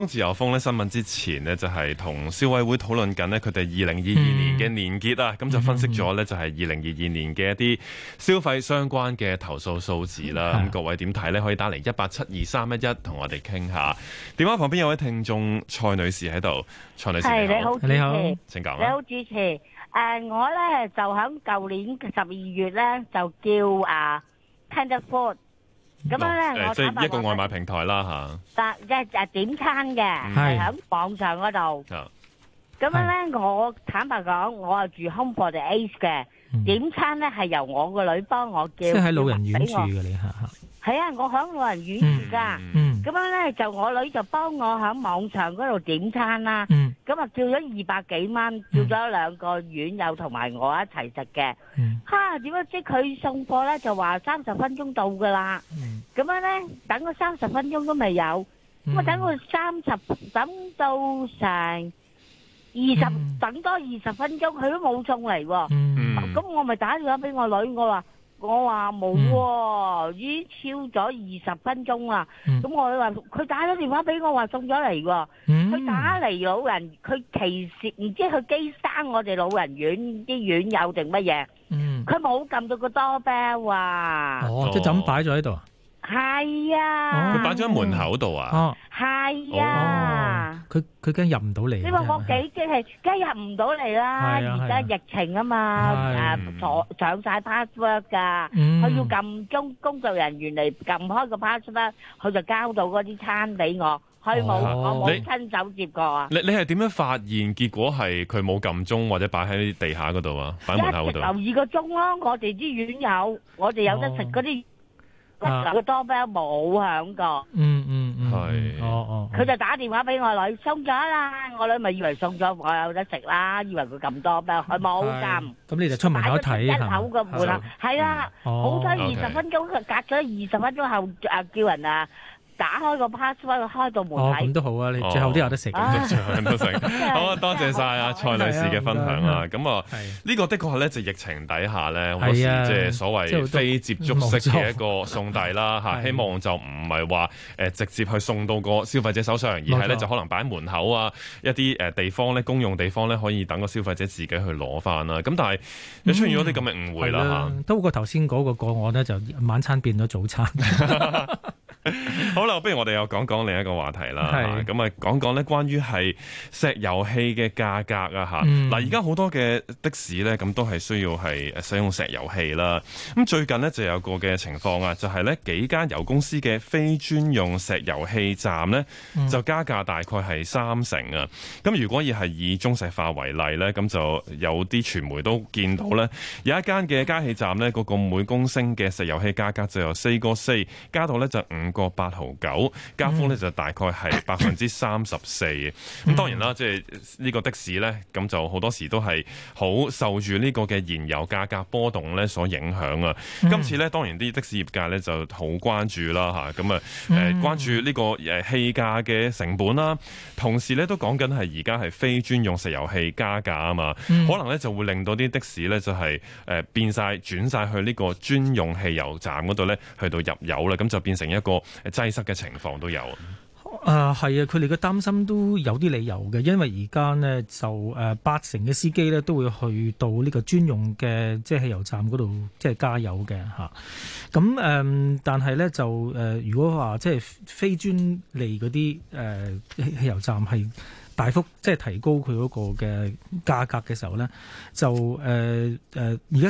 自由風咧新聞之前呢，就係同消委會討論緊呢，佢哋2022年嘅年結啊，咁就分析咗呢，就係2022年嘅一啲消費相關嘅投訴數字啦。咁各位點睇呢？可以打嚟1872311同我哋傾下。電話旁邊有位聽眾蔡女士喺度，蔡女士你好， 你好， 請講。 你好主持，我咧就喺舊年12月咧就叫Tender Food。咁樣咧， 即係一個外賣平台啦嚇。即係點餐嘅，係喺網上嗰度。咁樣咧，我坦白講，我係住 Home for the Aged 嘅。點餐咧係由我個女幫我叫。即係喺老人院住嘅你嚇。係啊，我喺老人院住㗎。咁樣咧就我女就幫我喺網上嗰度點餐啦。咁啊叫咗200幾蚊，叫咗2個院友同埋我一齊食嘅。點解即佢送貨咧就話30分鐘到㗎啦？咁樣咧等咗30分鐘都未有，咁啊等佢等到成等多20分鐘，佢都冇送嚟喎。咁我咪打電話俾我女，我話冇喎，已經超咗20分鐘啦。咁我話佢打咗電話俾我話送咗嚟喎，佢打嚟老人，佢歧視唔知佢機生我哋老人院啲院友定乜嘢？佢冇撳到個doorbell啊！ 即係就咁擺咗喺度啊？ 係啊！ 佢擺咗喺門口度啊？ 係啊！ 佢驚入唔到嚟。 你話我幾驚係，梗係入唔到嚟啦！而家疫情啊嘛，上晒 password 㗎，佢要撳工作人員嚟撳開個 password，佢就交到嗰啲餐俾我。我冇親手接過啊！ 你係點樣發現結果係佢冇撳鐘或者擺喺地下嗰度啊？擺喺門口嗰度。 一直留2個鐘咯，我哋啲院友，我哋有得食嗰啲個 doorbell 冇響過。 係。 佢就打電話俾我女，送咗啦。我女咪以為送咗，我有得食啦，以為佢撳 doorbell，佢冇撳。 咁你就出門口睇一口個門口，係啦。好彩20分鐘，隔咗20分鐘後叫人打開個 password 開到門睇。 咁都好啊！你最後都有得食。 最後都食。好啊，多謝晒蔡女士嘅分享啊！咁呢個的確係咧，就疫情底下咧，好多時即係所謂非接觸式嘅一個送遞啦嚇。希望就唔係話直接去送到個消費者手上，而係咧就可能擺喺門口啊，一啲地方咧，公用地方咧，可以等個消費者自己去攞翻啦。咁但係又出現咗啲咁嘅誤會啦嚇。 都過頭先嗰個個案咧，就晚餐變咗早餐。 好啦，不如我哋又講講另一個話題啦。咁啊，講講咧關於係石油氣嘅價格啊嚇。嗱，而家好多嘅的士咧，咁都係需要係使用石油氣啦。咁最近呢，就有個嘅情況啊，就係咧幾間油公司嘅非專用石油氣站呢，就加價大概係30%啊。咁如果要係以中石化為例咧，咁就有啲傳媒都見到咧，有一間嘅加氣站咧，嗰個每公升嘅石油氣價格就由4個4加到咧就5個8毫9，加幅咧就大概係34%嘅。咁當然啦，即係呢個的士咧，咁就好多時都係好受住呢個嘅燃油價格波動咧所影響啊。今次咧當然啲的士業界咧就好關注啦嚇，咁啊關注呢個氣價嘅成本啦，同時咧都講緊係而家係非專用石油氣加價啊嘛，可能咧就會令到啲的士咧就係變晒轉晒去呢個專用汽油站嗰度咧去到入油啦，咁就變成一個擠塞嘅情況都有。 係啊，佢哋嘅擔心都有啲理由嘅，因為而家呢，就80%嘅司機呢都會去到呢個專用嘅即係汽油站嗰度即係加油嘅嚇。咁但係呢，就如果話即係非專利嗰啲汽油站係大幅即係提高佢嗰個嘅價格嘅時候呢，就而家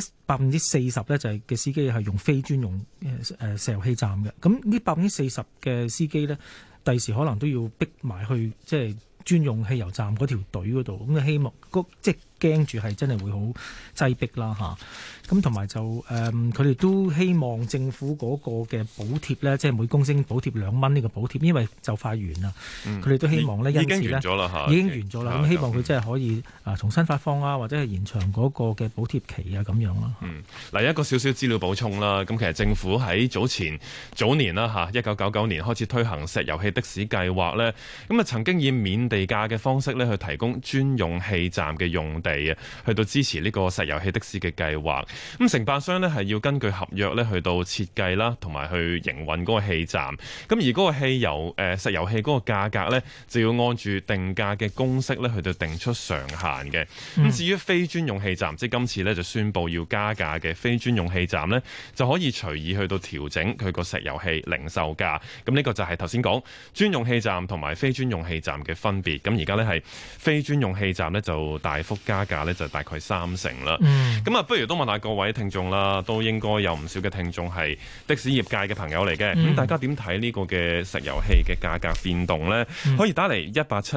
40%咧就係嘅司機係用非專用石油氣站嘅。咁呢40%嘅司機呢，第時可能都要逼埋去即係專用汽油站嗰條隊嗰度，咁希望即係驚住係真係會好擠迫啦嚇。咁同埋就佢哋都希望政府嗰個嘅補貼咧，即係每公升補貼2蚊呢個補貼，因為就快完啦。佢哋都希望咧，因此咧已經完咗啦嚇，已經完咗啦。咁希望佢真係可以重新發放啊，或者係延長嗰個嘅補貼期啊咁樣啦。 嗱，一個少少資料補充啦。咁其實政府喺早年啦嚇，1999年開始推行石油氣的士計劃咧，咁啊曾經以免地價嘅方式咧去提供專用氣站嘅用地。 備啊，去到支持呢個石油氣的士嘅計劃。咁承辦商呢係要根據合約呢去到設計啦，同埋去營運嗰個氣站。咁而嗰個石油氣嗰個價格呢，就要按住定價嘅公式呢去到定出上限嘅。咁至於非專用氣站，即係今次呢就宣布要加價嘅非專用氣站呢，就可以隨意去到調整佢個石油氣零售價。咁呢個就係頭先講專用氣站同埋非專用氣站嘅分別。咁而家呢係非專用氣站呢就大幅加價呢，就大概30%啦。咁啊，不如都問下各位聽眾啦，都應該有唔少嘅聽眾係的士業界嘅朋友嚟嘅。咁大家點睇呢個嘅石油氣嘅價格變動呢？可以打嚟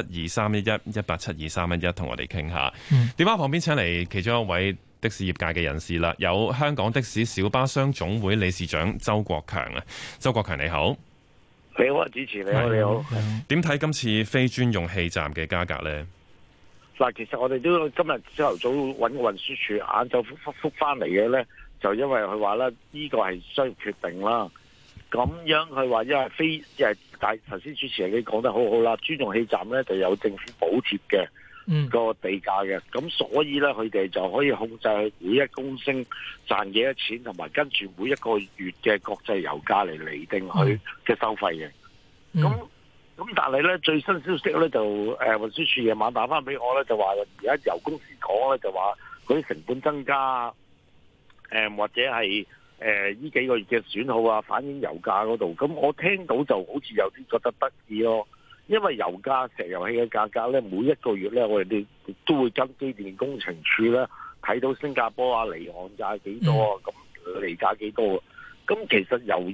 1872311同我哋傾下。電話旁邊請嚟其中一位的士業界嘅人士啦，有香港的士小巴商總會理事長周國強啊。周國強你好。 你好，主持你好，你好。 點睇今次非專用氣站嘅價格呢？ 嗱，其實我哋都今日朝頭早揾運輸署，晏晝覆翻嚟嘅咧，就因為佢話咧呢個係商業決定啦。咁樣佢話因為但頭先主持人你講得好好啦，專用氣站咧就有政府補貼嘅個地價嘅，咁所以咧佢哋就可以控制每一公升賺幾多錢，同埋跟住每一個月嘅國際油價嚟釐定佢嘅收費嘅。咁但係咧最新消息咧就運輸署夜晚打翻俾我咧，就話而家由公司講咧就話嗰啲成本增加，或者係呢幾個月嘅損耗啊反映油價嗰度。咁我聽到就好似有啲覺得得意咯，因為油價石油氣嘅價格咧每一個月咧我哋都會跟機電工程署咧睇到新加坡啊離岸價幾多啊，咁離價幾多啊。咁其實由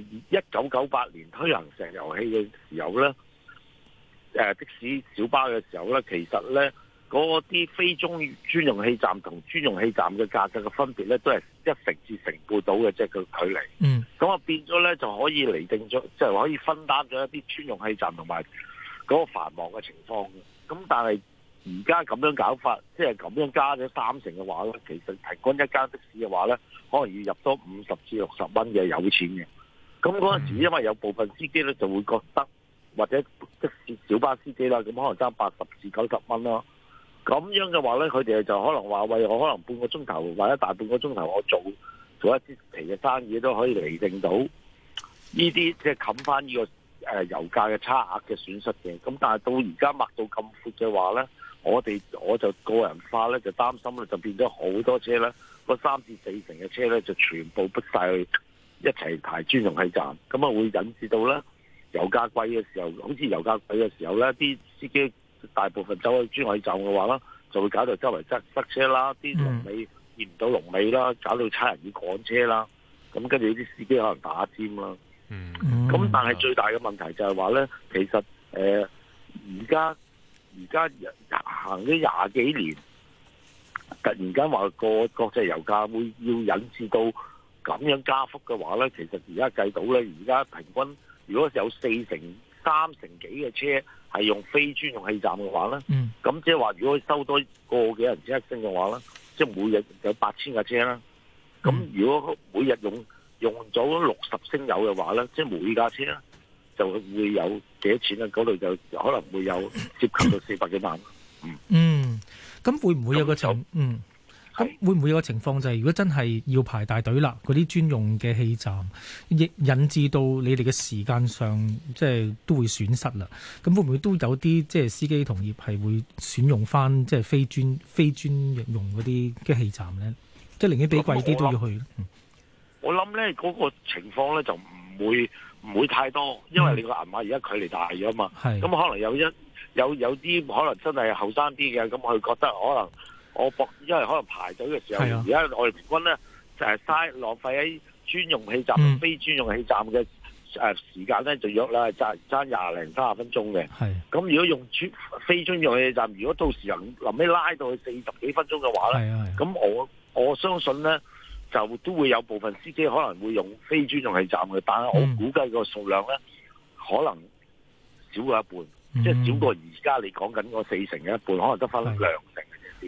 1998年推行石油氣嘅時候咧，的士小巴嘅時候咧，其實咧嗰啲非專用氣站同專用氣站嘅價格嘅分別咧，都係1成至1成半到嘅，即係個距離。咁啊變咗咧就可以釐定咗，即係可以分擔咗一啲專用氣站同埋嗰個繁忙嘅情況。咁但係而家咁樣搞法，即係咁樣加咗3成嘅話咧，其實平均一間的士嘅話咧，可能要入多50至60蚊嘅有錢嘅。咁嗰陣時因為有部分司機咧就會覺得，或者的士小巴司機啦，咁可能爭80至90蚊咯。咁樣嘅話咧，佢哋就可能話喂，我可能半個鐘頭或者大半個鐘頭，我做一啲期嘅生意都可以釐定到呢啲，即係冚翻呢個油價嘅差額嘅損失嘅。咁但係到而家擘到咁闊嘅話咧，我就個人化咧就擔心咧，就變咗好多車咧，個3至4成嘅車咧就全部逼晒去一齊排專用氣站，咁啊會引致到咧油價貴嘅時候，好似油價貴嘅時候咧，啲司機大部分走去專用氣站嘅話啦，就會搞到周圍塞車啦，啲龍尾見唔到龍尾啦，搞到差人要趕車啦，咁跟住啲司機可能打尖啦。咁但係最大嘅問題就係話咧，其實而家行咗20幾年，突然間話個國際油價會要引致到咁樣加幅嘅話咧，其實而家計到咧，而家平均如果有3成幾嘅車係用非專用氣站嘅話咧，咁即係話如果收多個幾人車一升嘅話咧，即係每日有8000架車啦。咁如果每日用咗60升油嘅話咧，即係每架車咧就會有幾多錢咧？嗰度就可能會有涉及到400幾萬。 咁會唔會有個咁會唔會有個情況就係，如果真係要排大隊啦，嗰啲專用嘅氣站，亦引致到你哋嘅時間上即係都會損失啦。咁會唔會都有啲即係司機同業係會選用翻即係非專用嗰啲嘅氣站咧？即係寧願俾貴啲都要去。 我諗咧嗰個情況咧就唔會太多，因為你個銀碼而家距離大咗嘛。咁可能有啲可能真係後生啲嘅，咁佢覺得可能因為可能排隊嘅時候，而家我哋平均咧就係浪費喺專用氣站同非專用氣站嘅時間咧，就約啦爭20零30分鐘嘅。咁如果用非專用氣站，如果到時臨尾拉到去40幾分鐘嘅話咧，咁我相信咧就都會有部分司機可能會用非專用氣站嘅，但係我估計個數量咧可能少過一半，即係少過而家你講緊個4成嘅一半，可能得翻2成嘅啫。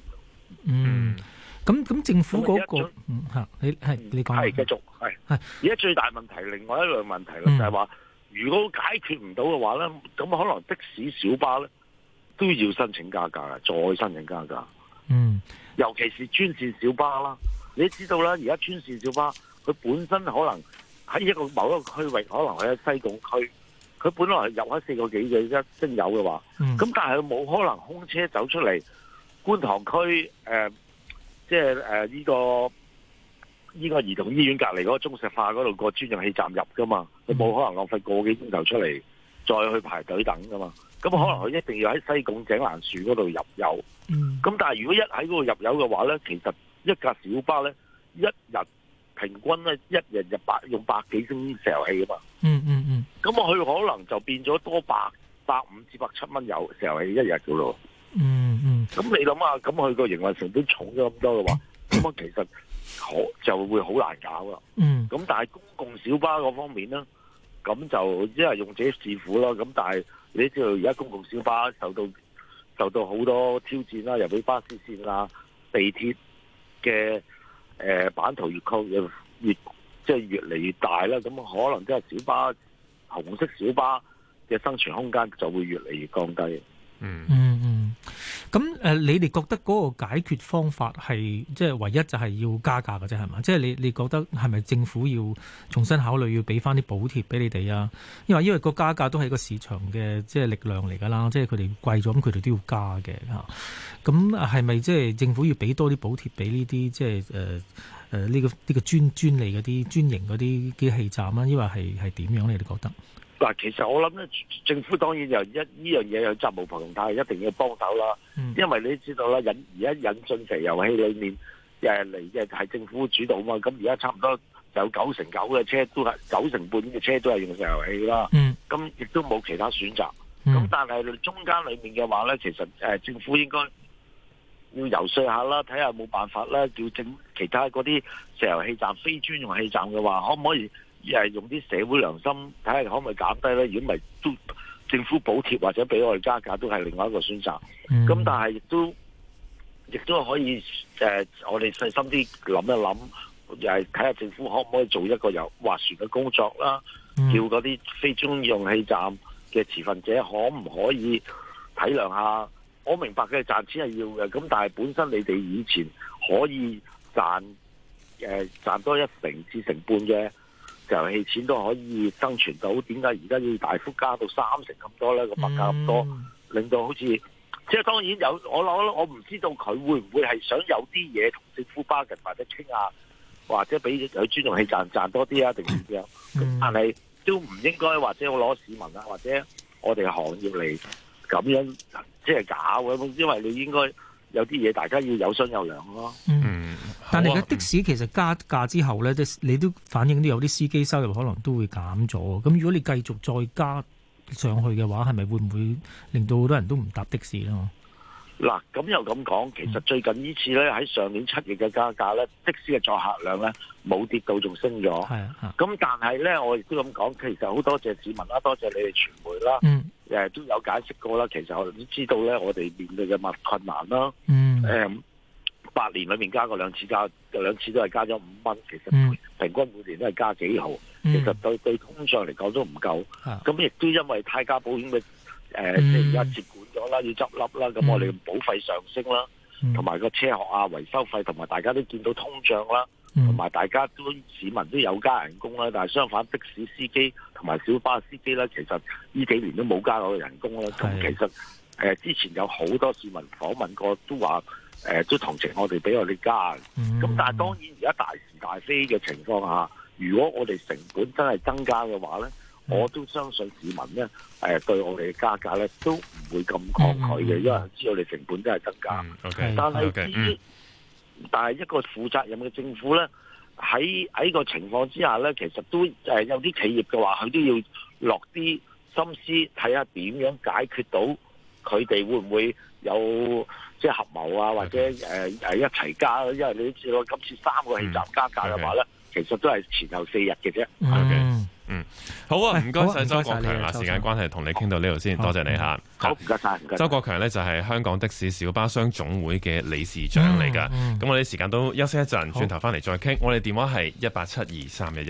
咁政府嗰個你講係繼續係。而家最大問題，另外一樣問題咧就係話，如果解決唔到嘅話咧，咁可能的士小巴咧都要申請加價，再申請加價。 尤其是專線小巴啦。你知道啦，而家專線小巴佢本身可能喺某一個區域，可能喺西貢區，佢本來入開4個幾嘅一升油嘅話，咁但係佢冇可能空車走出嚟觀塘區呢個兒童醫院隔離嗰個中石化嗰度個專用氣站入噶嘛，佢冇可能浪費個幾鐘頭出嚟再去排隊等噶嘛。咁可能佢一定要喺西貢井欄樹嗰度入油。咁但係如果一喺嗰度入油嘅話咧，其實一架小巴咧一日平均咧一日用百幾升石油氣啊嘛。咁佢可能就變咗多150至170蚊油石油氣一日噶咯。咁你諗下，咁佢個營運成本重咗咁多嘅話，咁啊其實就會好難搞啦。咁但係公共小巴嗰方面咧，咁就即係用者自負啦。咁但係你知道而家公共小巴受到好多挑戰啦，尤其巴士線啊、地鐵嘅版圖越嚟越大啦。咁可能即係小巴紅色小巴嘅生存空間就會越嚟越降低。咁你哋覺得嗰個解決方法係即係唯一就係要加價嘅啫，係嘛？即係你覺得係咪政府要重新考慮要俾翻啲補貼俾你哋啊？因為個加價都係個市場嘅即係力量嚟㗎啦，即係佢哋貴咗咁佢哋都要加嘅嚇。咁係咪即係政府要俾多啲補貼俾呢啲即係呢個專利嗰啲專營嗰啲機器站啊？因為係點樣你哋覺得？嗱，其實我諗咧，政府當然呢樣嘢有責無旁貸，一定要幫手啦。因為你知道啦，而家引進石油氣裏面嚟嘅係政府主導嘛。咁而家差唔多有9成9嘅車都係9成半嘅車都係用石油氣啦。咁亦都冇其他選擇。咁但係中間裏面嘅話咧，其實政府應該要游說下啦，睇下有冇辦法啦，叫其他嗰啲石油氣站、非專用氣站嘅話，可唔可以？用啲社會良心睇下可唔可以減低咧？如果唔係，都政府補貼或者俾我哋加價都係另外一個選擇。咁但係亦都可以我哋細心啲諗一諗，又係睇下政府可唔可以做一個有斡旋嘅工作啦？叫嗰啲非專用氣站嘅持份者可唔可以體諒下？我明白嘅賺錢係要嘅，咁但係本身你哋以前可以賺多1成至1成半嘅石油氣錢都可以生存到，點解而家要大幅加到3成咁多咧？個物價咁多，令到好似即係當然有我唔知道佢會唔會係想有啲嘢同政府bargain或者傾下，或者俾佢專用氣賺多啲啊，定點樣？但係都唔應該或者我攞市民啊，或者我哋行業嚟咁樣即係搞嘅，因為你應該有啲嘢大家要有商有量咯。 但係的士其實加價之後咧，你都反映到有啲司機收入可能都會減咗。咁如果你繼續再加上去嘅話，係咪會唔會令到好多人都唔搭的士咧？ 嗱，咁又咁講，其實最近呢次咧喺上年7月嘅加價咧，的士嘅載客量咧冇跌到，仲升咗。咁但係咧，我亦都咁講，其實好多謝市民啦，多謝你哋傳媒啦，都有解釋過啦。其實我哋都知道咧，我哋面對嘅困難啦。8年裏面加過2次兩次都係加咗5蚊，其實平均每年都係加幾毫，其實對通脹嚟講都唔夠。咁亦都因為泰加保險嘅即係而家接管咗啦，要執笠啦，咁我哋保費上升啦，同埋個車學啊維修費，同埋大家都見到通脹啦，同埋大家都市民都有加人工啦，但係相反的士司機同埋小巴司機咧，其實呢幾年都冇加過人工啦。咁其實之前有好多市民訪問過都話。都同情我哋，俾我哋加。咁但係當然而家大是大非嘅情況下，如果我哋成本真係增加嘅話咧，我都相信市民咧對我哋嘅加價咧都唔會咁抗拒嘅，因為知道你成本真係增加。但係一個負責任嘅政府咧，喺個情況之下咧，其實都有啲企業嘅話，佢都要落啲心思睇下點樣解決到佢哋會唔會有。即係合謀啊，或者一齊加，因為你都知道今次3個氣站加價嘅話咧，其實都係前後4日嘅啫。 好啊，唔該晒周國強啊，時間關係同你傾到呢度先，多謝你嚇。 好，唔該晒。 周國強呢就係香港的士小巴商總會嘅理事長嚟㗎。咁我哋時間都休息一陣，轉頭翻嚟再傾。我哋電話係1872311。